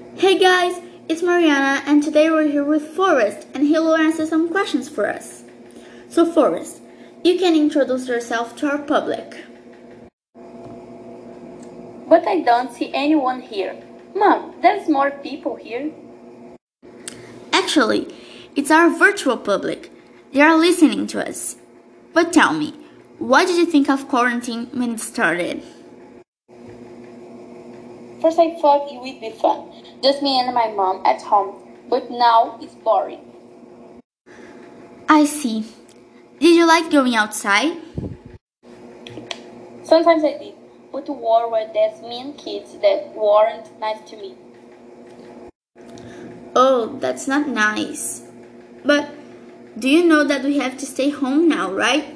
Hey guys, it's Mariana and today we're here with Forrest and he will answer some questions for us. So Forrest, you can introduce yourself to our public. But I don't see anyone here. Mom, there's more people here. Actually, it's our virtual public. They are listening to us. But tell me, what did you think of quarantine when it started? First I thought it would be fun, just me and my mom at home, but now it's boring. I see. Did you like going outside? Sometimes I did, but the war were these mean kids that weren't nice to me. Oh, that's not nice. But do you know that we have to stay home now, right?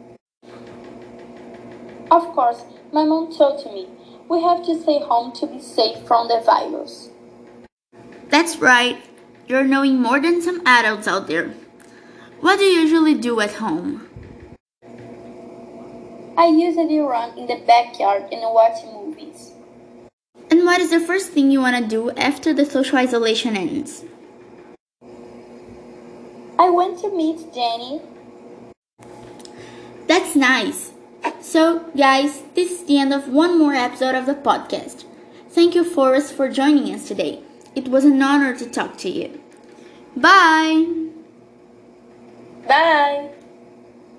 Of course, my mom told me, we have to stay home to be safe from the virus. That's right. You're knowing more than some adults out there. What do you usually do at home? I usually run in the backyard and watch movies. And what is the first thing you want to do after the social isolation ends? I went to meet Jenny. That's nice. So, guys, this is the end of one more episode of the podcast. Thank you, Forrest, for joining us today. It was an honor to talk to you. Bye! Bye!